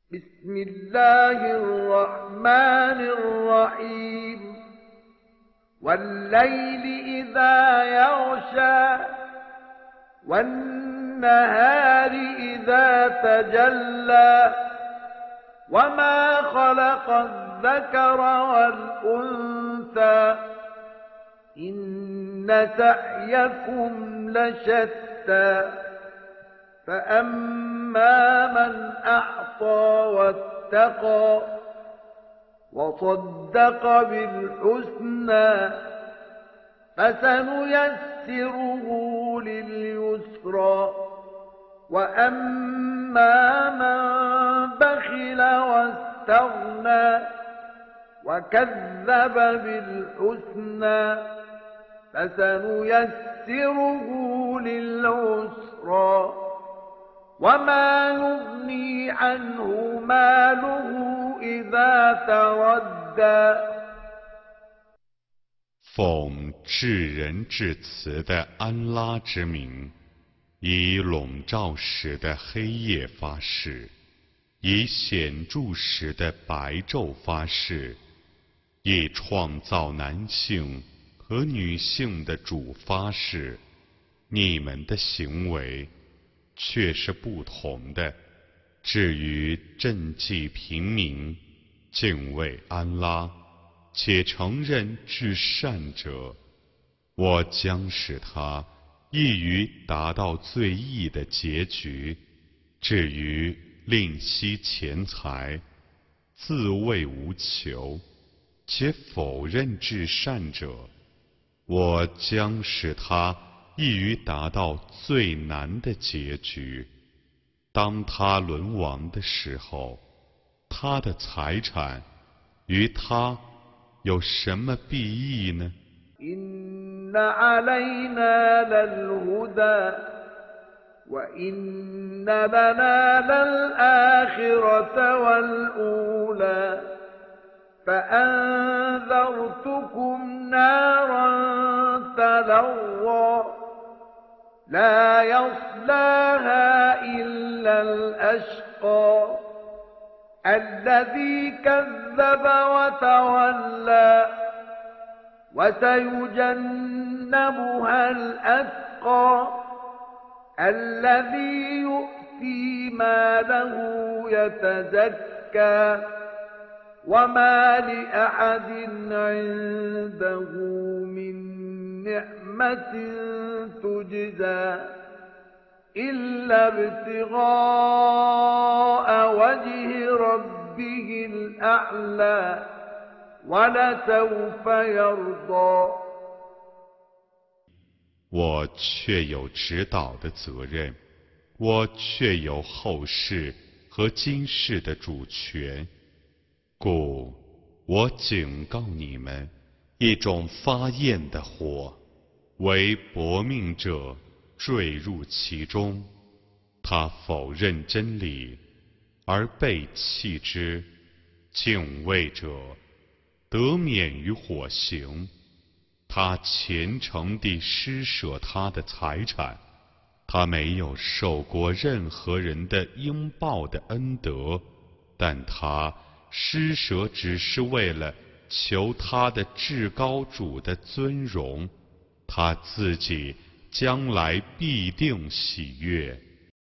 بسم الله الرحمن الرحيم والليل إذا يغشى والنهار إذا تجلى وما خلق الذكر والأنثى إن سعيكم لشتى فأما من أعطى واتقى وصدق بالحسنى فسنيسره لليسرى وأما من بخل واستغنى وكذب بالحسنى فسنيسره للعسرى وما يغني عنه ماله إذا تردى 奉至仁至慈的安拉之名，以笼罩时的黑夜发誓，以显著时的白昼发誓，以创造男性和女性的主发誓，你们的行为却是不同的。至于赈济平民、敬畏安拉，且承认至善者，我将使他易于达到最易的结局。至于吝惜钱财、自谓无求，且否认至善者，我将使他易于达到最难的结局。当他沦亡的时候，他的财产于他有什么裨益呢？ إن علينا للهدى وإن لنا للآخرة والأولى فأنذرتكم نارا تلظى لا يصلاها إلا الأشقى الذي كذب وتولى وسيجنبها الأتقى الذي يؤتي ماله يتزكى وما لأحد عنده من نعمة تجزى إلا ابتغاء وجه ربه الأعلى ولسوف يرضى 我却有指导的责任，我却有后世和今世的主权，故我警告你们，一种发焰的火，为薄命者坠入其中，他否认真理而背弃之，敬畏者得免于火刑。他虔诚地施舍他的财产，他没有受过任何人的应报的恩德，但他施舍只是为了求他的至高主的尊荣，他自己将来必定喜悦。